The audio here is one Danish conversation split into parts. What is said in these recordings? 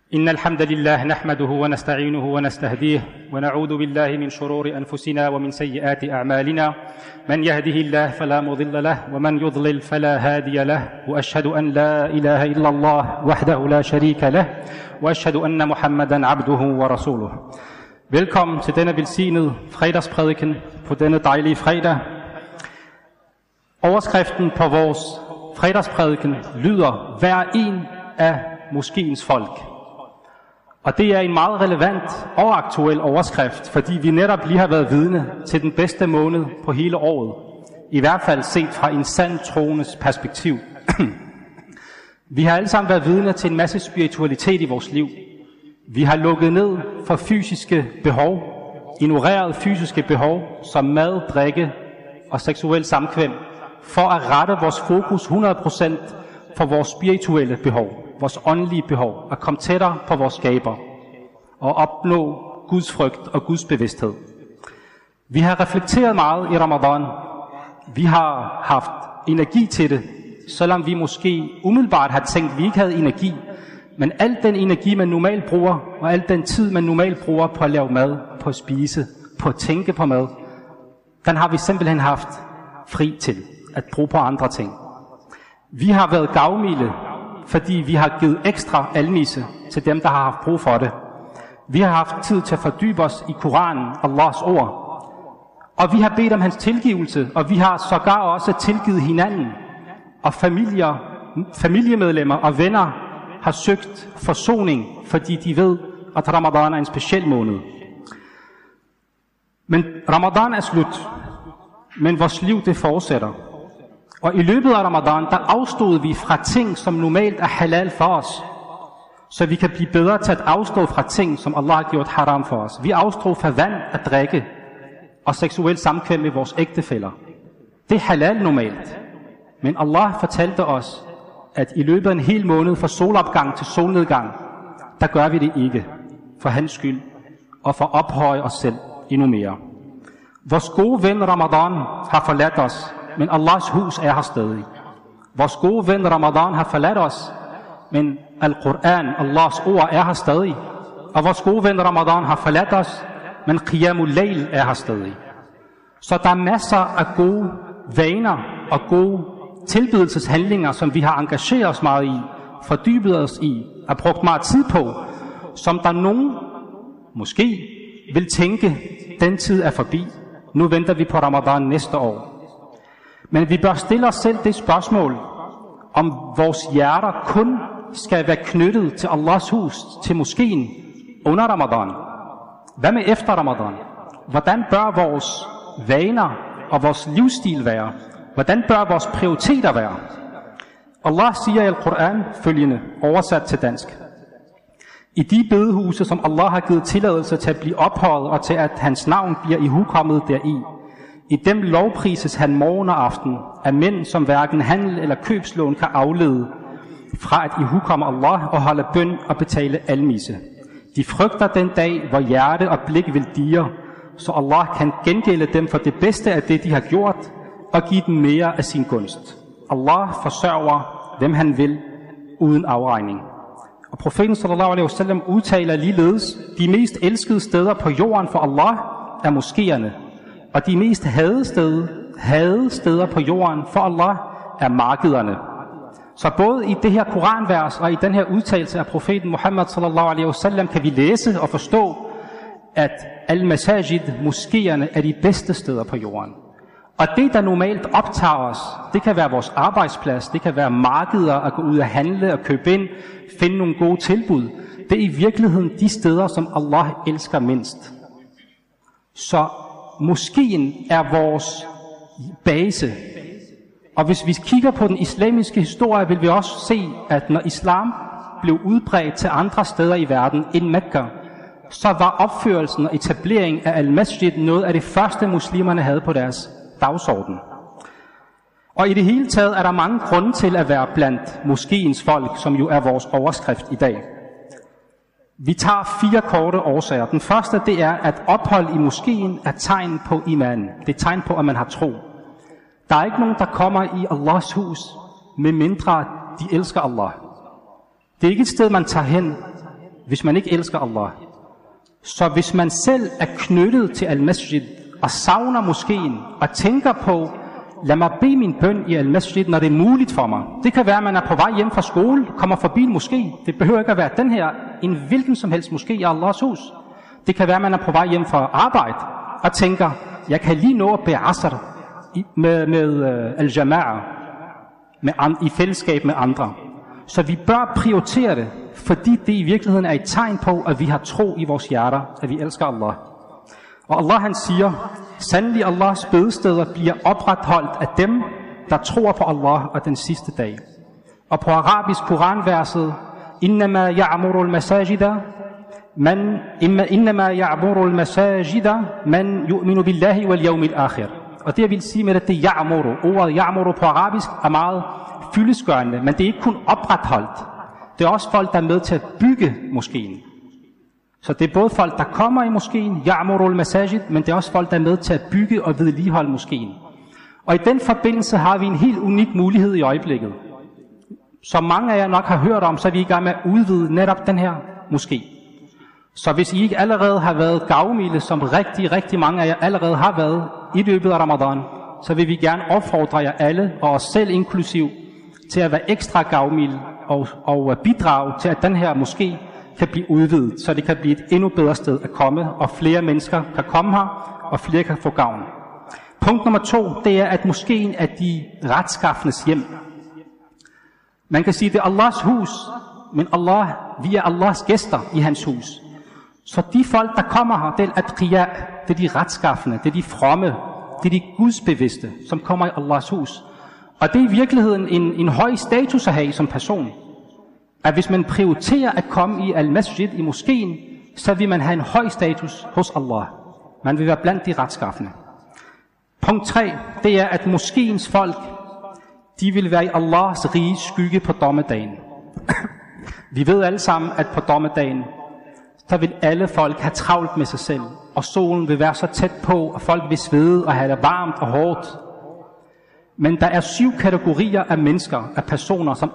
إن الحمد لله نحمده ونستعينه ونستهديه ونعوذ بالله من شرور أنفسنا ومن سيئات أعمالنا من يهده الله فلا مضل له ومن يضلل فلا هادي له وأشهد أن لا إله إلا الله وحده لا شريك له وأشهد أن محمدا عبده ورسوله. Velkommen til denne velsignede fredagsprædiken på denne dejlige fredag. Overskriften på vores fredagsprædiken lyder: Hver en af moskéens folk. Og det er en meget relevant og aktuel overskrift, fordi vi netop lige har været vidne til den bedste måned på hele året. I hvert fald set fra en sand troendes perspektiv. Vi har alle sammen været vidne til en masse spiritualitet i vores liv. Vi har lukket ned for fysiske behov, ignoreret fysiske behov som mad, drikke og seksuel samkvem, for at rette vores fokus 100% for vores spirituelle behov, vores åndelige behov, at komme tættere på vores skaber og opnå Guds frygt og Guds bevidsthed. Vi har reflekteret meget i Ramadan. Vi har haft energi til det, selvom vi måske umiddelbart har tænkt, at vi ikke havde energi. Men al den energi, man normalt bruger, og al den tid, man normalt bruger på at lave mad, på at spise, på at tænke på mad, den har vi simpelthen haft fri til at bruge på andre ting. Vi har været gavmilde, fordi vi har givet ekstra almisse til dem, der har haft brug for det. Vi har haft tid til at fordybe os i Koranen, Allahs ord. Og vi har bedt om hans tilgivelse, og vi har sågar også tilgivet hinanden. Og familiemedlemmer og venner har søgt forsoning, fordi de ved, at Ramadan er en speciel måned. Men Ramadan er slut, men vores liv det fortsætter. Og i løbet af Ramadan, der afstod vi fra ting, som normalt er halal for os, så vi kan blive bedre til at afstå fra ting, som Allah har gjort haram for os. Vi afstod fra vand at drikke og seksuel samkvem med vores ægtefæller. Det er halal normalt. Men Allah fortalte os, at i løbet af en hel måned fra solopgang til solnedgang, der gør vi det ikke for hans skyld og for at ophøje os selv endnu mere. Vores gode ven Ramadan har forladt os, men Allahs hus er her stadig. Vores gode ven Ramadan har forladt os, men Al-Quran, Allahs ord, er her stadig. Og vores gode ven Ramadan har forladt os, men Qiyamul Layl er her stadig. Så der er masser af gode vaner og gode tilbedelseshandlinger, som vi har engageret os meget i, fordybet os i, og brugt meget tid på, som der nogen måske vil tænke, den tid er forbi. Nu venter vi på Ramadan næste år. Men vi bør stille os selv det spørgsmål, om vores hjerter kun skal være knyttet til Allahs hus, til moskeen under Ramadan. Hvad med efter Ramadan? Hvordan bør vores vaner og vores livsstil være? Hvordan bør vores prioriteter være? Allah siger i Al-Quran følgende, oversat til dansk: I de bedehuse, som Allah har givet tilladelse til at blive ophøjet og til at hans navn bliver ihukommet deri, i dem lovprises han morgen og aften af mænd, som hverken handel eller købslån kan aflede fra at ihukomme Allah og holde bøn og betale almisse. De frygter den dag, hvor hjerte og blik vil dirre, så Allah kan gengælde dem for det bedste af det, de har gjort, og give dem mere af sin gunst. Allah forsørger, hvem han vil, uden afregning. Og profeten sallallahu alaihi wasallam udtaler ligeledes: de mest elskede steder på jorden for Allah er moskéerne, og de mest hadede steder på jorden for Allah er markederne. Så både i det her koranvers og i den her udtalelse af profeten Muhammad sallallahu alaihi wasallam kan vi læse og forstå, at al-masajid, moskéerne, er de bedste steder på jorden. Og det, der normalt optager os, det kan være vores arbejdsplads, det kan være markeder, at gå ud og handle og købe ind, finde nogle gode tilbud. Det er i virkeligheden de steder, som Allah elsker mindst. Så moskeen er vores base. Og hvis vi kigger på den islamiske historie, vil vi også se, at når islam blev udbredt til andre steder i verden end Mekka, så var opførelsen og etableringen af al-masjid noget af det første muslimerne havde på deres dagsorden. Og i det hele taget er der mange grunde til at være blandt moskéens folk, som jo er vores overskrift i dag. Vi tager 4 korte årsager. Den første, det er, at ophold i moskéen er tegn på iman. Det er tegn på, at man har tro. Der er ikke nogen, der kommer i Allahs hus, medmindre de elsker Allah. Det er ikke et sted, man tager hen, hvis man ikke elsker Allah. Så hvis man selv er knyttet til al-masjid og savner moskeen og tænker på, lad mig bede min bøn i al-masjid, når det er muligt for mig. Det kan være, at man er på vej hjem fra skole, kommer forbi en moské. Det behøver ikke at være den her, en hvilken som helst moské i Allahs hus. Det kan være, at man er på vej hjem fra arbejde og tænker, jeg kan lige nå at bede asr med al-jama'a, i fællesskab med andre. Så vi bør prioritere det, fordi det i virkeligheden er et tegn på, at vi har tro i vores hjerter, at vi elsker Allah. Og Allah han siger, sandelig Allahs bedesteder bliver opretholdt af dem, der tror på Allah og den sidste dag. Og på arabisk Koranverset, innama ya'muru al-masajida man yu'minu billahi wal yawmil akhir. Og det jeg vil sige med det, det er ya'muru. Ordet ya'muru på arabisk er meget fyldestgørende, men det er ikke kun opretholdt. Det er også folk, der er med til at bygge moskeen. Så det er både folk, der kommer i moskeen, ya'muru al-masajid, men det er også folk, der er med til at bygge og vedligeholde moskeen. Og i den forbindelse har vi en helt unik mulighed i øjeblikket. Som mange af jer nok har hørt om, så er vi i gang med at udvide netop den her moské. Så hvis I ikke allerede har været gavmilde, som rigtig mange af jer allerede har været i løbet af Ramadan, så vil vi gerne opfordre jer alle, og os selv inklusiv, til at være ekstra gavmilde og bidrage til, at den her moské kan blive udvidet, så det kan blive et endnu bedre sted at komme, og flere mennesker kan komme her, og flere kan få gavn. Punkt nummer 2, det er, at moskéen er de retskaffendes hjem. Man kan sige, det er Allahs hus, men vi er Allahs gæster i hans hus. Så de folk, der kommer her, det er atqiya, det er de retskaffende, det er de fromme, det er de gudsbevidste, som kommer i Allahs hus. Og det er i virkeligheden en høj status at have som person. At hvis man prioriterer at komme i al-masjid, i moskeen, så vil man have en høj status hos Allah. Man vil være blandt de retskaffende. Punkt 3, det er, at moskeens folk, de vil være i Allahs rige skygge på dommedagen. Vi ved alle sammen, at på dommedagen, så vil alle folk have travlt med sig selv, og solen vil være så tæt på, og folk vil svede og have det varmt og hårdt. Men der er 7 kategorier af mennesker, af personer, som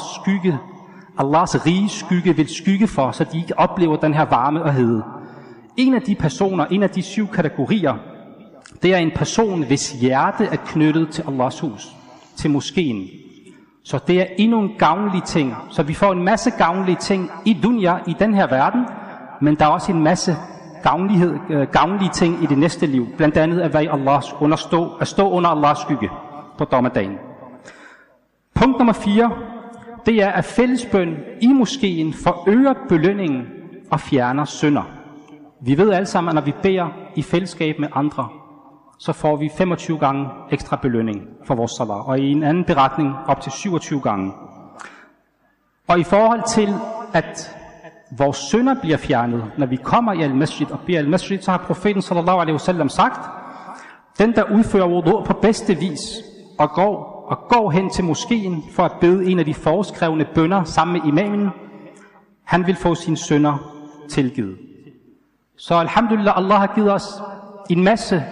Allahs rige skygge vil skygge for, så de ikke oplever den her varme og hede. En af de personer, en af de 7 kategorier, det er en person, hvis hjerte er knyttet til Allahs hus, til moskeen. Så det er endnu en gavnlig ting. Så vi får en masse gavnlige ting i dunya, i den her verden, men der er også en masse gavnlige ting i det næste liv. Blandt andet at være i at stå under Allahs skygge på dommedagen. Punkt nummer 4, det er, at fællesbøn i moskeen forøger belønningen og fjerner synder. Vi ved alle sammen, at når vi beder i fællesskab med andre, så får vi 25 gange ekstra belønning for vores salat, og i en anden beretning op til 27 gange. Og i forhold til, at vores synder bliver fjernet, når vi kommer i al-masjid og beder al-masjid, så har profeten sallallahu alaihi wasallam sagt, den der udfører wudu på bedste vis og går hen til moskeen for at bede en af de foreskrevne bønner sammen med imamen, han vil få sine synder tilgivet. Så alhamdulillah, Allah har givet os en masse,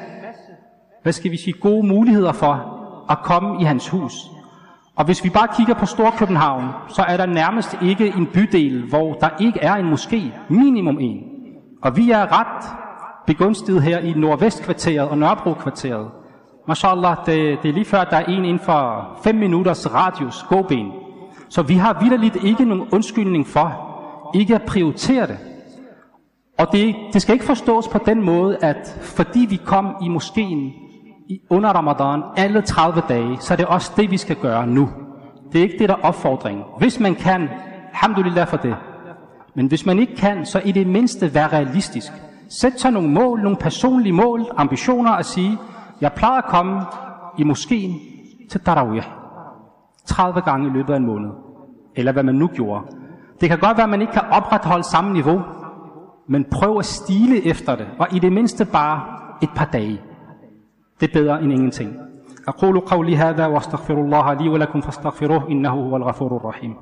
gode muligheder for at komme i hans hus. Og hvis vi bare kigger på Storkøbenhavn, så er der nærmest ikke en bydel, hvor der ikke er en moské, minimum en. Og vi er ret begunstiget her i Nordvestkvarteret og Nørrebrokvarteret. Mashallah, det er lige før, der er en inden for 5 minutters radius gåben. Så vi har vitterligt ikke nogen undskyldning for ikke at prioritere det. Og det skal ikke forstås på den måde, at fordi vi kom i moskeen under Ramadan alle 30 dage, så er det også det, vi skal gøre nu. Det er ikke det, der er opfordringen. Hvis man kan, alhamdulillah for det. Men hvis man ikke kan, så i det mindste være realistisk. Sæt sig nogle mål, nogle personlige mål, ambitioner at sige, jeg plejer at komme i moskeen til Tarawih 30 gange i løbet af en måned. Eller hvad man nu gjorde. Det kan godt være, at man ikke kan opretholde samme niveau, men prøv at stile efter det, og i det mindste bare et par dage. Det er bedre end ingenting. أقول قولي هذا واستغفر الله لي ولكم فاستغفروه إنه هو الغفور الرحيم.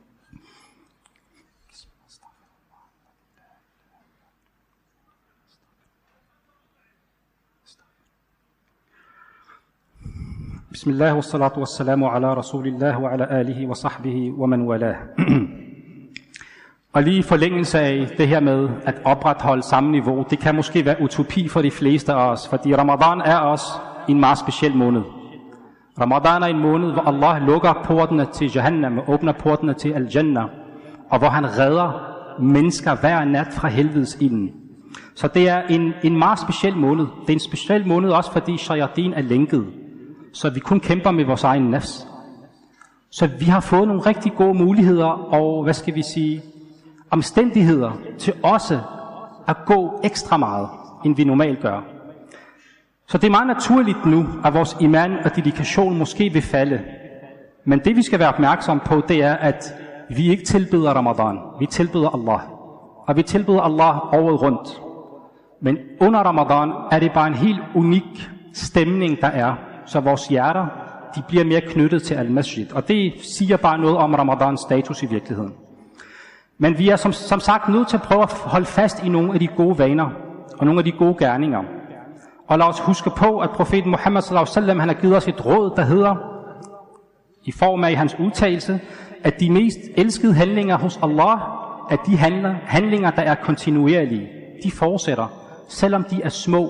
بسم الله والصلاة والسلام على رسول الله وعلى آله وصحبه ومن والاه. Og lige i forlængelse af det her med at opretholde samme niveau, det kan måske være utopi for de fleste af os, fordi Ramadan er også en meget speciel måned. Ramadan er en måned, hvor Allah lukker portene til Jahannam og åbner portene til Al-Jannah, og hvor han redder mennesker hver nat fra helvedes ilden. Så det er en meget speciel måned. Det er en speciel måned også, fordi shayatin er lænket, så vi kun kæmper med vores egen nafs. Så vi har fået nogle rigtig gode muligheder og, omstændigheder til også at gå ekstra meget, end vi normalt gør. Så det er meget naturligt nu, at vores iman og dedikation måske vil falde. Men det vi skal være opmærksom på, det er, at vi ikke tilbeder Ramadan. Vi tilbeder Allah. Og vi tilbeder Allah året rundt. Men under Ramadan er det bare en helt unik stemning, der er. Så vores hjerter, de bliver mere knyttet til al-masjid. Og det siger bare noget om Ramadans status i virkeligheden. Men vi er som sagt nødt til at prøve at holde fast i nogle af de gode vaner og nogle af de gode gerninger. Og lad os huske på, at profeten Muhammad sallallahu alaihi wasallam, han har givet os et råd, der hedder, i form af hans udtalelse, at de mest elskede handlinger hos Allah, at de handlinger, der er kontinuerlige, de fortsætter, selvom de er små.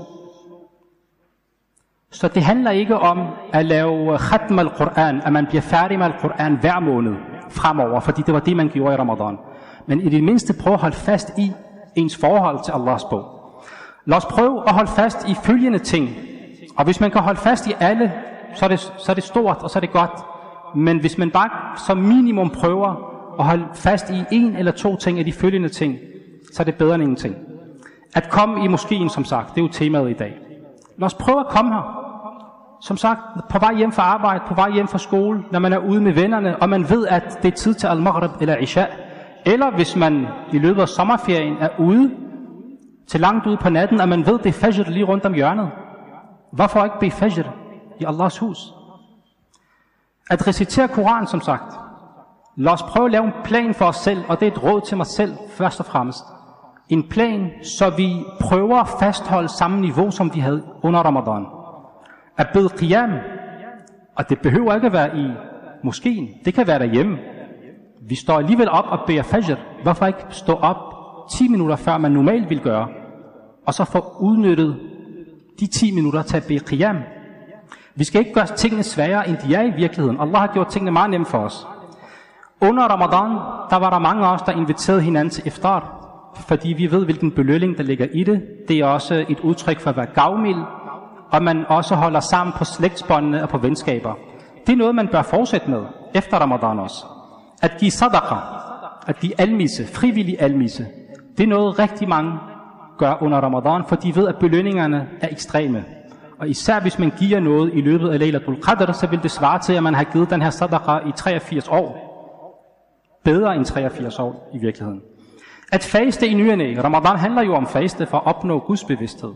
Så det handler ikke om at lave khatm al-Quran, at man bliver færdig med al-Quran hver måned fremover, fordi det var det, man gjorde i Ramadan. Men i det mindste prøve at holde fast i ens forhold til Allahs bog. Lad os prøve at holde fast i følgende ting. Og hvis man kan holde fast i alle, så er det stort, og så er det godt. Men hvis man bare som minimum prøver at holde fast i en eller to ting af de følgende ting, så er det bedre end ingenting. At komme i moskeen, som sagt, det er jo temaet i dag. Lad os prøve at komme her. Som sagt, på vej hjem fra arbejde, på vej hjem fra skole, når man er ude med vennerne, og man ved, at det er tid til al-Maghrib eller Isha. Eller hvis man i løbet af sommerferien er ude, til langt ude på natten, og man ved, det er fajr lige rundt om hjørnet. Hvorfor ikke bede fajr i Allahs hus? At recitere Koran, som sagt. Lad os prøve at lave en plan for os selv, og det er et råd til mig selv, først og fremmest. En plan, så vi prøver at fastholde samme niveau, som vi havde under Ramadan. At bede qiyam, og det behøver ikke at være i moskeen, det kan være derhjemme. Vi står alligevel op og beder fajr. Hvorfor ikke stå op 10 minutter før man normalt vil gøre, og så få udnyttet de 10 minutter til at bede qiyam. Vi skal ikke gøre tingene sværere, end de er i virkeligheden. Allah har gjort tingene meget nemme for os. Under Ramadan, der var der mange af os, der inviterede hinanden til iftar, fordi vi ved, hvilken belønning, der ligger i det. Det er også et udtryk for at være gavmild, og man også holder sammen på slægtsbåndene og på venskaber. Det er noget, man bør fortsætte med efter Ramadan også. At give sadaqa, at give almisse, frivillig almisse, det er noget rigtig mange gør under Ramadan, for de ved, at belønningerne er ekstreme. Og især hvis man giver noget i løbet af Laylatul Qadr, så vil det svare til, at man har givet den her sadaqa i 83 år. Bedre end 83 år i virkeligheden. At faste i ny og næ. Ramadan handler jo om faste for at opnå Guds bevidsthed.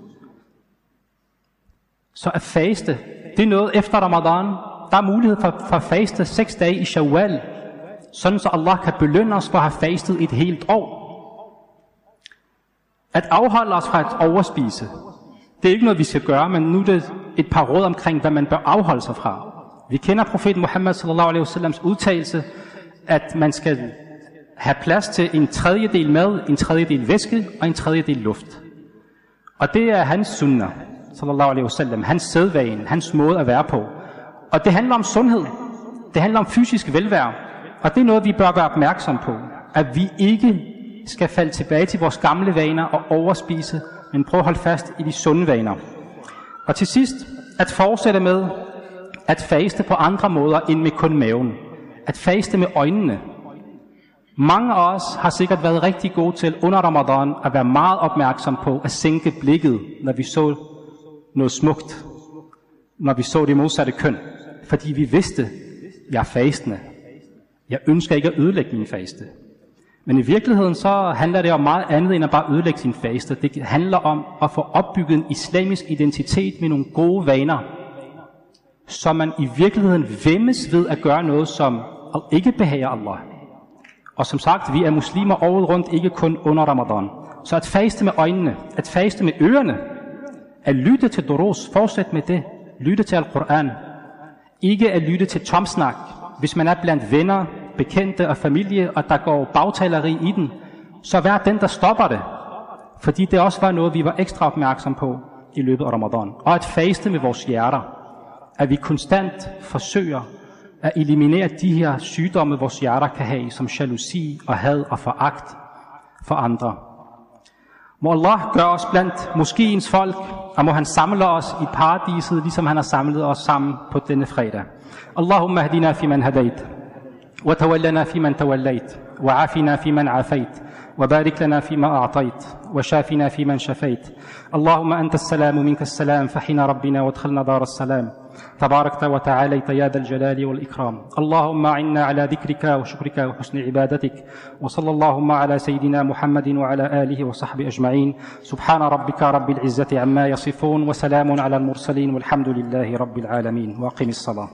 Så at faste, det er noget efter Ramadan. Der er mulighed for at faste 6 dage i Shawwal, sådan så Allah kan belønne os for at have fastet et helt år. At afholde os fra at overspise, det er ikke noget, vi skal gøre, men nu er det et par råd omkring, hvad man bør afholde sig fra. Vi kender profeten Muhammad sallallahu alaihi wasallams udtalelse, at man skal have plads til en tredjedel mad, en tredjedel væske og en tredjedel luft. Og det er hans sunnah, sallallahu alaihi wasallam, hans sædvane, hans måde at være på. Og det handler om sundhed. Det handler om fysisk velvære. Og det er noget, vi bør være opmærksom på. At vi ikke skal falde tilbage til vores gamle vaner og overspise, men prøve at holde fast i de sunde vaner. Og til sidst, at fortsætte med at faste på andre måder end med kun maven. At faste med øjnene. Mange af os har sikkert været rigtig gode til under Ramadan at være meget opmærksom på at sænke blikket, når vi så noget smukt. Når vi så det modsatte køn. Fordi vi vidste, jeg er fastende. Jeg ønsker ikke at ødelægge min faste. Men i virkeligheden så handler det om meget andet end at bare ødelægge sin faste. Det handler om at få opbygget en islamisk identitet med nogle gode vaner. Så man i virkeligheden væmmes ved at gøre noget, som ikke behager Allah. Og som sagt, vi er muslimer året rundt, ikke kun under Ramadan. Så at faste med øjnene, at faste med ørerne, at lytte til durus, fortsæt med det. Lytte til Al-Quran. Ikke at lytte til tomsnak. Hvis man er blandt venner, bekendte og familie, og der går bagtaleri i den, så vær den, der stopper det. Fordi det også var noget, vi var ekstra opmærksom på i løbet af Ramadan. Og at faste med vores hjerter. At vi konstant forsøger at eliminere de her sygdomme, vores hjerter kan have, som jalousi og had og foragt for andre. Må Allah gøre os blandt moskéens folk, og må han samle os i paradiset, ligesom han har samlet os sammen på denne fredag. Allahumma hadina fi man hadait, wa tawallana fi man tawallait, wa afina fi man afait, وبارك لنا فيما أعطيت وشافنا فيمن شفيت اللهم أنت السلام منك السلام فحنا ربنا وادخلنا دار السلام تباركت وتعاليت يا ذا الجلال والإكرام اللهم أعنا على ذكرك وشكرك وحسن عبادتك وصلى اللهم على سيدنا محمد وعلى آله وصحبه أجمعين سبحان ربك رب العزة عما يصفون وسلام على المرسلين والحمد لله رب العالمين وأقم الصلاة